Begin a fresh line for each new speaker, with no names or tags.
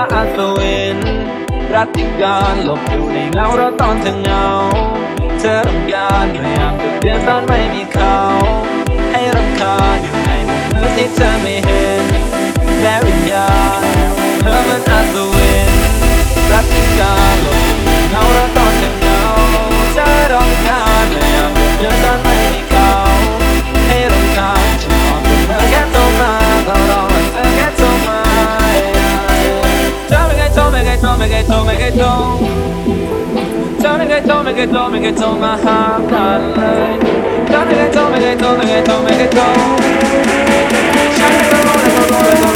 อัศวินรัตติการหลบอยู่ในเงาเราตอนเธอเหงาเธอรำคาญพยายามจะเปลี่ยนตอนไม่มีเขาให้รำคาญอยู่ในมุมมืดที่เธอไม่เห็นและวิญญาณเธอมันอัศวินรัตติการหลบอยู่ในเงาเราตอนเธอเหงาเธอรำคาญพยายามจะเปลี่ยนตอนไม่มีเขาให้รำคาญฉันขอเธอแค่โทรมาก็รอเธอแค่โทรมาเธอไม่เคยโทรไม่เคยโทรไม่เคยโทรไม่เคยโทรเธอไม่เคยโทรไม่เคยโทรไม่เคยโทรมาหากันเลยเธอไม่เคยโทรไม่เคยโทรไม่เคยโทรไม่เคยโทรฉันก็รู้และก็รู้และก็